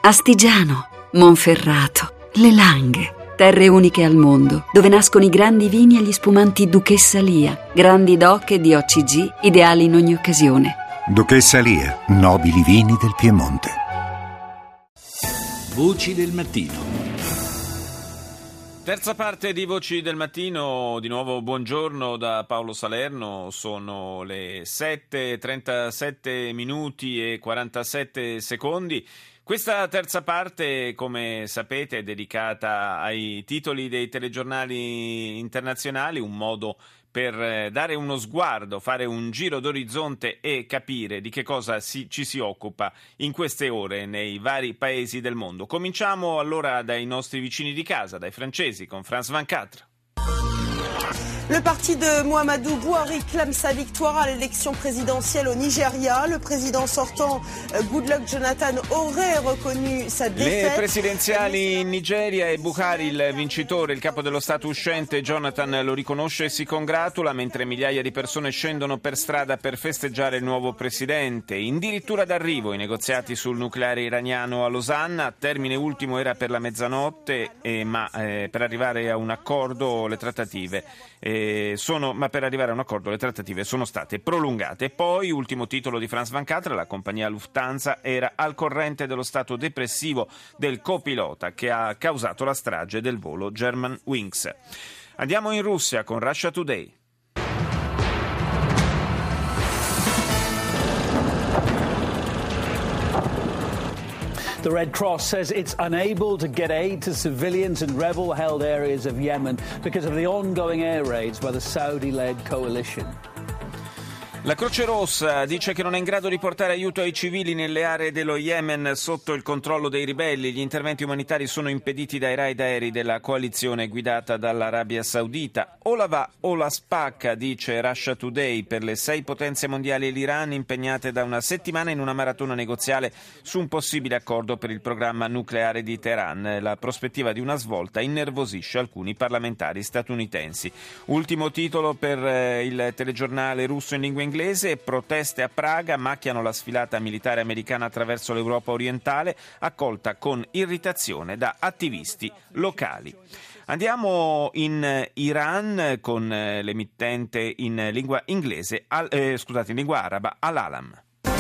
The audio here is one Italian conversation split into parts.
Astigiano, Monferrato, Le Langhe. Terre uniche al mondo, dove nascono i grandi vini e gli spumanti Duchessa Lia, grandi DOC e DOCG, ideali in ogni occasione. Duchessa Lia, nobili vini del Piemonte. Voci del mattino. Terza parte di Voci del Mattino, di nuovo buongiorno da Paolo Salerno, sono le 7:37 minuti e 47 secondi. Questa terza parte, come sapete, è dedicata ai titoli dei telegiornali internazionali, un modo per dare uno sguardo, fare un giro d'orizzonte e capire di che cosa ci si occupa in queste ore nei vari paesi del mondo. Cominciamo allora dai nostri vicini di casa, dai francesi, con France 24. Le parti de Muhammadu Buhari clame sa victoire à l'élection présidentielle au Nigeria. Le président sortant, Goodluck Jonathan, aurait reconnu sa défaite. Le presidenziali in Nigeria e Buhari, il vincitore, il capo dello Stato uscente, Jonathan, lo riconosce e si congratula, mentre migliaia di persone scendono per strada per festeggiare il nuovo presidente. Addirittura d'arrivo i negoziati sul nucleare iraniano a Losanna. Termine ultimo era per la mezzanotte, ma per arrivare a un accordo le trattative sono state prolungate. Poi, ultimo titolo di France 24, la compagnia Lufthansa era al corrente dello stato depressivo del copilota che ha causato la strage del volo Germanwings. Andiamo in Russia con Russia Today. The Red Cross says it's unable to get aid to civilians in rebel-held areas of Yemen because of the ongoing air raids by the Saudi-led coalition. La Croce Rossa dice che non è in grado di portare aiuto ai civili nelle aree dello Yemen sotto il controllo dei ribelli. Gli interventi umanitari sono impediti dai raid aerei della coalizione guidata dall'Arabia Saudita. O la va o la spacca, dice Russia Today, per le 6 potenze mondiali e l'Iran impegnate da una settimana in una maratona negoziale su un possibile accordo per il programma nucleare di Teheran. La prospettiva di una svolta innervosisce alcuni parlamentari statunitensi. Ultimo titolo per il telegiornale russo in lingua inglese: proteste a Praga macchiano la sfilata militare americana attraverso l'Europa orientale, accolta con irritazione da attivisti locali. Andiamo in Iran con l'emittente in lingua inglese, in lingua araba, Al-Alam.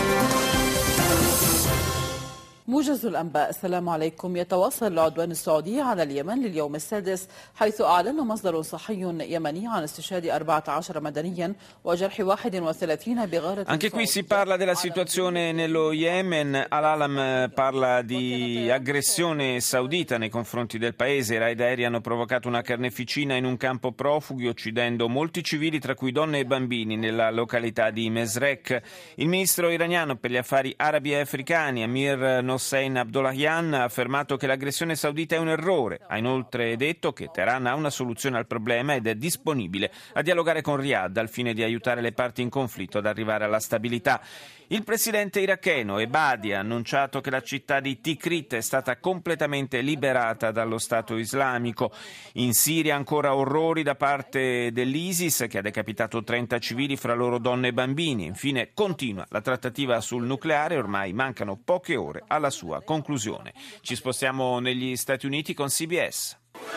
موجز الأنباء. السلام عليكم. يتواصل العدوان السعودي على اليمن لليوم السادس، حيث أعلن مصدر صحي يمني عن استشهاد 14 مدنيا وجرح 31 بغارة. Anche qui si parla della situazione nello Yemen. Al-Alam parla di aggressione saudita nei confronti del paese. I raid aerei hanno provocato una carneficina in un campo profughi, uccidendo molti civili, tra cui donne e bambini, nella località di Mesrek. Il ministro iraniano per gli affari arabi e africani, Amir Hossein Abdollahian, ha affermato che l'aggressione saudita è un errore. Ha inoltre detto che Teheran ha una soluzione al problema ed è disponibile a dialogare con Riyadh al fine di aiutare le parti in conflitto ad arrivare alla stabilità. Il presidente iracheno Ebadi ha annunciato che la città di Tikrit è stata completamente liberata dallo Stato islamico. In Siria ancora orrori da parte dell'ISIS, che ha decapitato 30 civili, fra loro donne e bambini. Infine continua la trattativa sul nucleare, ormai mancano poche ore alla sua conclusione. Ci spostiamo negli Stati Uniti con CBS.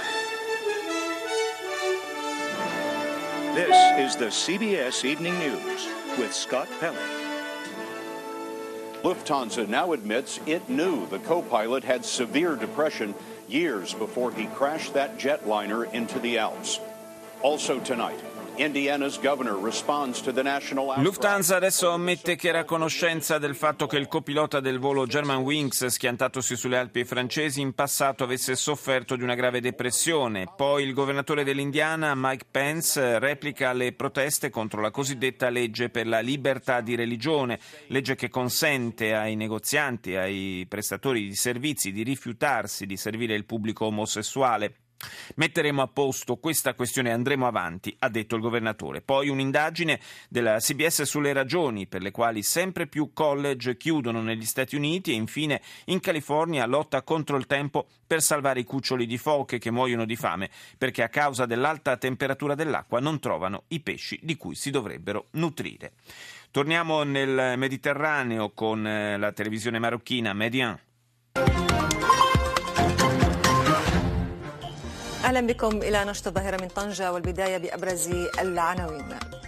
This is the CBS Evening News with Scott Pelley. Lufthansa now admits it knew the co-pilot had severe depression years before he crashed that jetliner into the Alps. Also tonight, Indiana's governor responds to the national outcry. Lufthansa adesso ammette che era a conoscenza del fatto che il copilota del volo Germanwings, schiantatosi sulle Alpi francesi, in passato avesse sofferto di una grave depressione. Poi il governatore dell'Indiana, Mike Pence, replica le proteste contro la cosiddetta legge per la libertà di religione, legge che consente ai negozianti, ai prestatori di servizi di rifiutarsi di servire il pubblico omosessuale. Metteremo a posto questa questione e andremo avanti, ha detto il governatore. Poi un'indagine della CBS sulle ragioni per le quali sempre più college chiudono negli Stati Uniti, e infine in California lotta contro il tempo per salvare i cuccioli di foche che muoiono di fame perché a causa dell'alta temperatura dell'acqua non trovano i pesci di cui si dovrebbero nutrire. Torniamo nel Mediterraneo con la televisione marocchina Median. أهلا بكم إلى نشط الظاهرة من طنجة والبداية بأبرز العناوين.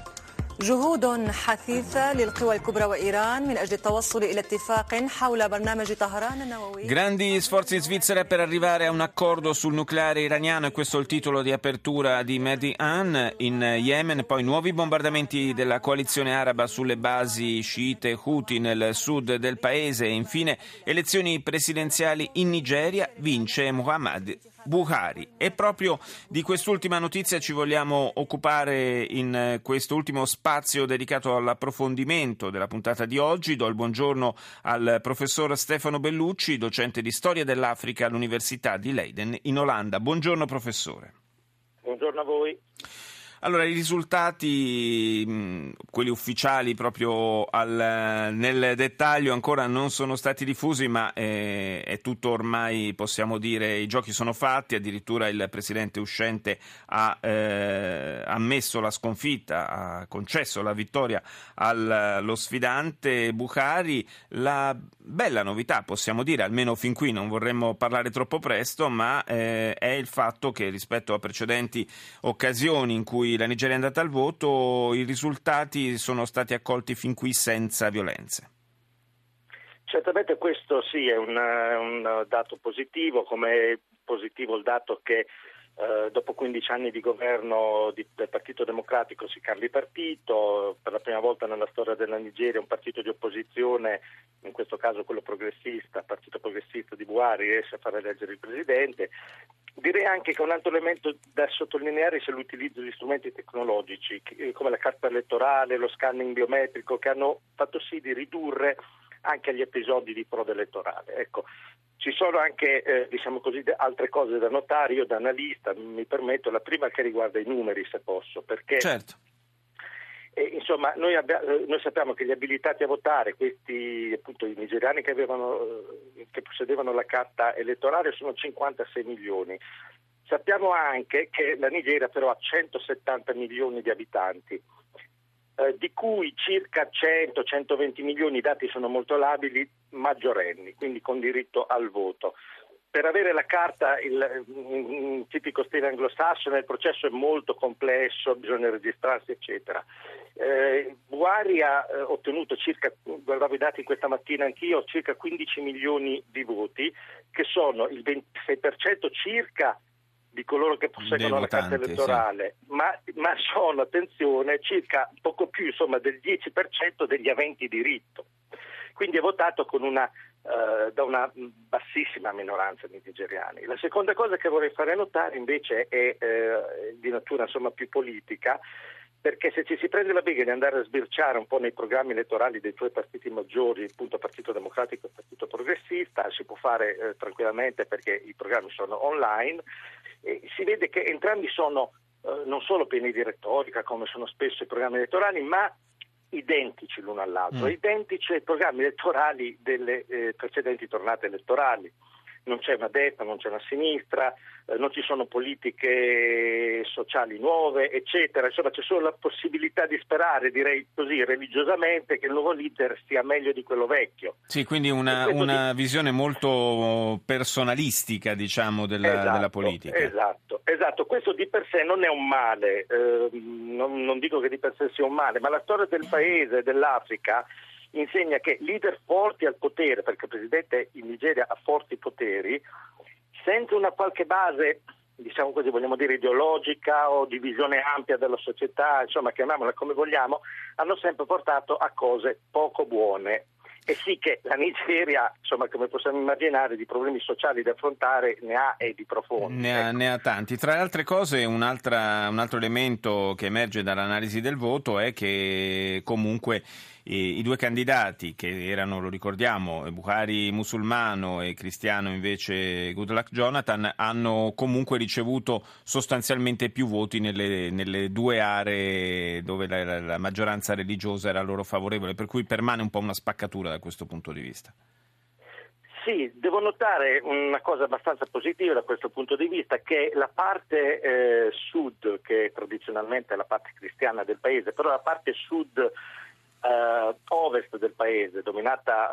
جهود حثيثة للقوى الكبرى وإيران من أجل التوصل إلى اتفاق حول برنامج طهران النووي. Grandi sforzi in Svizzera per arrivare a un accordo sul nucleare iraniano, e questo è il titolo di apertura di Mehdi-an. In Yemen poi nuovi bombardamenti della coalizione araba sulle basi sciite Houthi nel sud del paese, e infine elezioni presidenziali in Nigeria, vince Muhammad Buhari. E proprio di quest'ultima notizia ci vogliamo occupare in quest'ultimo spazio dedicato all'approfondimento della puntata di oggi. Do il buongiorno al professor Stefano Bellucci, docente di storia dell'Africa all'Università di Leiden in Olanda. Buongiorno professore. Buongiorno a voi. Allora, i risultati, quelli ufficiali proprio nel dettaglio, ancora non sono stati diffusi, ma è tutto ormai, possiamo dire, i giochi sono fatti. Addirittura il presidente uscente ha ammesso la sconfitta, ha concesso la vittoria allo sfidante Buhari. La bella novità, possiamo dire, almeno fin qui, non vorremmo parlare troppo presto, ma è il fatto che rispetto a precedenti occasioni in cui la Nigeria è andata al voto, i risultati sono stati accolti fin qui senza violenze. Certamente questo sì è un dato positivo, come è positivo il dato che dopo 15 anni di governo del Partito Democratico si cambi partito. Per la prima volta nella storia della Nigeria un partito di opposizione, in questo caso quello progressista, il Partito Progressista di Buhari, riesce a far eleggere il presidente. Direi anche che un altro elemento da sottolineare sia l'utilizzo di strumenti tecnologici come la carta elettorale, lo scanning biometrico, che hanno fatto sì di ridurre anche gli episodi di frode elettorale. Ecco, ci sono anche diciamo così altre cose da notare. Io da analista mi permetto la prima che riguarda i numeri, se posso, perché certo. Insomma, noi sappiamo che gli abilitati a votare, questi appunto i nigeriani che possedevano la carta elettorale, sono 56 milioni. Sappiamo anche che la Nigeria però ha 170 milioni di abitanti, di cui circa 100-120 milioni, i dati sono molto labili, maggiorenni, quindi con diritto al voto. Per avere la carta, in tipico stile anglosassone, il processo è molto complesso, bisogna registrarsi, eccetera. Buhari ha ottenuto guardavo i dati questa mattina anch'io, circa 15 milioni di voti, che sono il 26% circa di coloro che posseggono la carta elettorale, sì. ma sono, attenzione, circa poco più, insomma, del 10% degli aventi diritto. Quindi è votato da una bassissima minoranza di nigeriani. La seconda cosa che vorrei fare notare invece è di natura insomma più politica, perché se ci si prende la briga di andare a sbirciare un po' nei programmi elettorali dei due partiti maggiori, appunto Partito Democratico e Partito Progressista, si può fare tranquillamente perché i programmi sono online, e si vede che entrambi sono non solo pieni di retorica come sono spesso i programmi elettorali, ma identici l'uno all'altro, identici ai programmi elettorali delle precedenti tornate elettorali. Non c'è una destra, non c'è una sinistra, non ci sono politiche sociali nuove, eccetera. Insomma, c'è solo la possibilità di sperare, direi così, religiosamente, che il nuovo leader sia meglio di quello vecchio. Sì, quindi una visione molto personalistica, diciamo, della politica. Esatto. Questo di per sé non è un male, non dico che di per sé sia un male, ma la storia del paese, dell'Africa, insegna che leader forti al potere, perché il presidente in Nigeria ha forti poteri, senza una qualche base, diciamo così, vogliamo dire ideologica o di visione ampia della società, insomma chiamiamola come vogliamo, hanno sempre portato a cose poco buone. E sì che la Nigeria, insomma, come possiamo immaginare, di problemi sociali da affrontare ne ha e di profondi. Ne ha tanti. Tra le altre cose, un altro elemento che emerge dall'analisi del voto è che comunque i due candidati che erano, lo ricordiamo, Buhari musulmano e cristiano invece Goodluck Jonathan, hanno comunque ricevuto sostanzialmente più voti nelle due aree dove la maggioranza religiosa era loro favorevole, per cui permane un po' una spaccatura da questo punto di vista. Sì, devo notare una cosa abbastanza positiva da questo punto di vista, che la parte sud, che tradizionalmente è la parte cristiana del paese, però la parte sud ovest del paese, dominata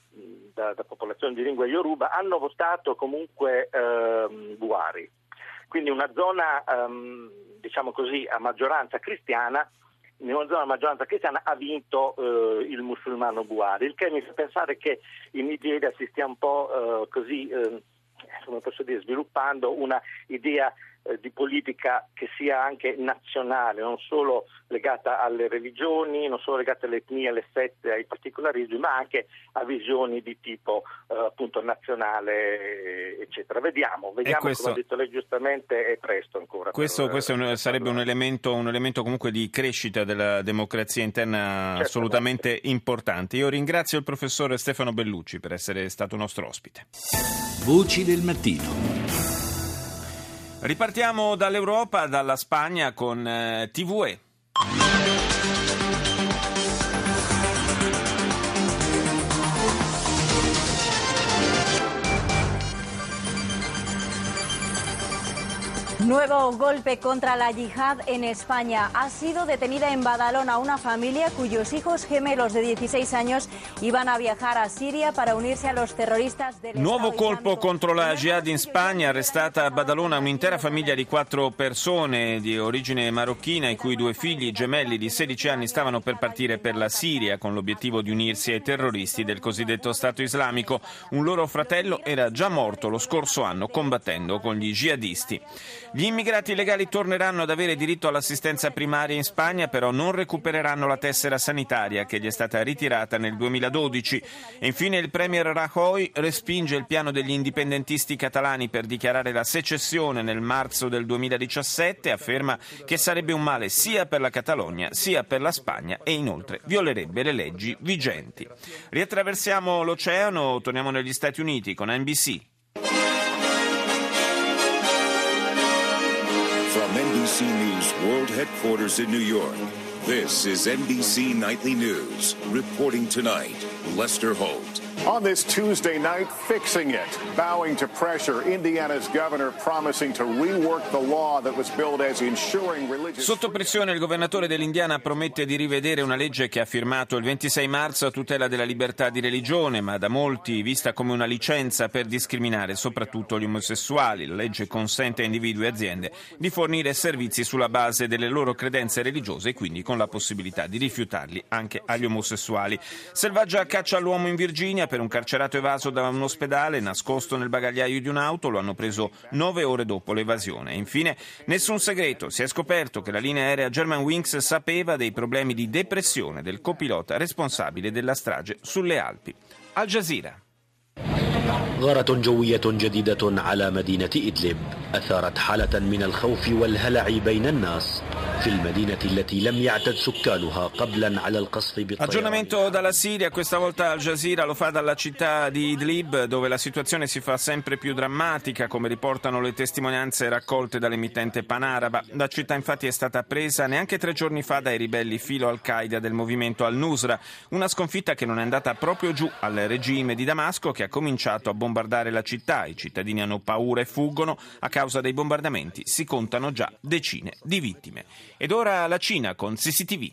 da popolazioni di lingua Yoruba, hanno votato comunque Buhari. quindi una zona diciamo così a maggioranza cristiana. In una zona a maggioranza cristiana ha vinto il musulmano Buhari, il che mi fa pensare che in Nigeria si stia un po' così, come posso dire, sviluppando una idea di politica che sia anche nazionale, non solo legata alle religioni, non solo legata alle etnie, alle sette, ai particolarismi, ma anche a visioni di tipo appunto nazionale, eccetera. Vediamo, questo, come ha detto lei giustamente, è presto ancora. Questo sarebbe un elemento comunque di crescita della democrazia interna assolutamente importante. Io ringrazio il professor Stefano Bellucci per essere stato nostro ospite. Voci del mattino. Ripartiamo dall'Europa, dalla Spagna con TVE. Nuevo golpe contra la yihad en España. Ha sido detenida en Badalona una familia cuyos hijos gemelos de 16 años iban a viajar a Siria para unirse a los terroristas del Nuovo Estado colpo Islámico. contro la jihad in Spagna, arrestata a Badalona un'intera famiglia di 4 persone di origine marocchina, i cui 2 figli gemelli di 16 anni stavano per partire per la Siria con l'obiettivo di unirsi ai terroristi del cosiddetto Stato Islamico. Un loro fratello era già morto lo scorso anno combattendo con gli jihadisti. Gli immigrati illegali torneranno ad avere diritto all'assistenza primaria in Spagna, però non recupereranno la tessera sanitaria che gli è stata ritirata nel 2012. E infine il premier Rajoy respinge il piano degli indipendentisti catalani per dichiarare la secessione nel marzo del 2017, afferma che sarebbe un male sia per la Catalogna sia per la Spagna e inoltre violerebbe le leggi vigenti. Riattraversiamo l'oceano, torniamo negli Stati Uniti con NBC. From NBC News World Headquarters in New York, this is NBC Nightly News. Reporting tonight, Lester Holt. On this Tuesday night, fixing it, bowing to pressure, Indiana's governor promising to rework the law that was billed as ensuring religious... Sotto pressione il governatore dell'Indiana promette di rivedere una legge che ha firmato il 26 marzo a tutela della libertà di religione, ma da molti vista come una licenza per discriminare soprattutto gli omosessuali. La legge consente a individui e aziende di fornire servizi sulla base delle loro credenze religiose e quindi con la possibilità di rifiutarli anche agli omosessuali. Selvaggia caccia all'uomo in Virginia per un carcerato evaso da un ospedale nascosto nel bagagliaio di un'auto. Lo hanno preso 9 ore dopo l'evasione. E infine, nessun segreto, si è scoperto che la linea aerea Germanwings sapeva dei problemi di depressione del copilota responsabile della strage sulle Alpi. Al Jazeera. غارة جوية جديدة على مدينة إدلب أثارت حالة من الخوف والهلع بين الناس في المدينة التي لم يعتد سكانها قبلا على القصف بالطيران. Aggiornamento dalla Siria, questa volta Al Jazeera lo fa dalla città di Idlib, dove la situazione si fa sempre più drammatica, come riportano le testimonianze raccolte dall'emittente panaraba. La città infatti è stata presa neanche 3 giorni fa dai ribelli filo Al-Qaeda del movimento Al-Nusra, una sconfitta che non è andata proprio giù al regime di Damasco, che ha cominciato a bombardare la città. I cittadini hanno paura e fuggono. A causa dei bombardamenti si contano già decine di vittime. Ed ora la Cina con CCTV.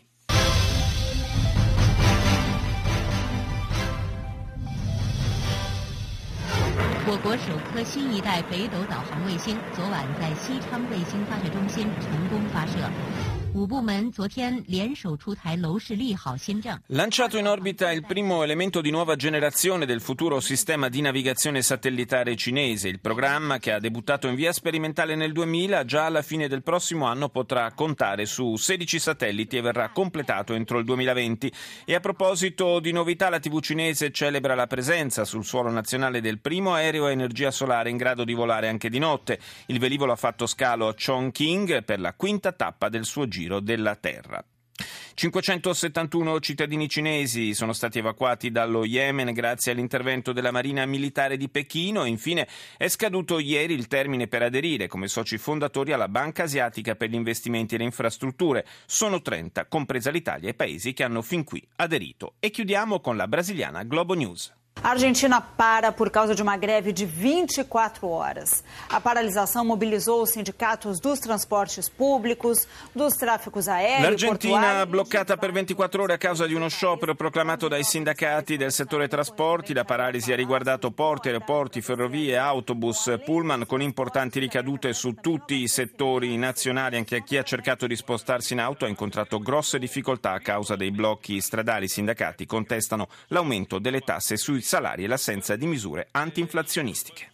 我国首颗新一代北斗导航卫星昨晚在西昌卫星发射中心成功发射。5部门昨天联手出台楼市利好新政。 Lanciato in orbita il primo elemento di nuova generazione del futuro sistema di navigazione satellitare cinese. Il programma, che ha debuttato in via sperimentale nel 2000, già alla fine del prossimo anno potrà contare su 16 satelliti e verrà completato entro il 2020. E a proposito di novità, la TV cinese celebra la presenza sul suolo nazionale del primo aereo a energia solare in grado di volare anche di notte. Il velivolo ha fatto scalo a Chongqing per la 5ª tappa del suo giro della Terra. 571 cittadini cinesi sono stati evacuati dallo Yemen grazie all'intervento della Marina Militare di Pechino. Infine è scaduto ieri il termine per aderire come soci fondatori alla Banca Asiatica per gli investimenti e le infrastrutture. Sono 30, compresa l'Italia, i paesi che hanno fin qui aderito. E chiudiamo con la brasiliana Globo News. A Argentina para por causa de uma greve de 24 horas. A paralisação mobilizou os sindicatos dos transportes públicos, dos trafficos aerei. L'Argentina bloccata per 24 ore a causa di uno sciopero proclamato dai sindacati del settore trasporti. La paralisi ha riguardato porti, aeroporti, ferrovie, autobus, pullman, con importanti ricadute su tutti i settori nazionali. Anche chi ha cercato di spostarsi in auto ha incontrato grosse difficoltà a causa dei blocchi stradali. I sindacati contestano l'aumento delle tasse sui salari e l'assenza di misure antinflazionistiche.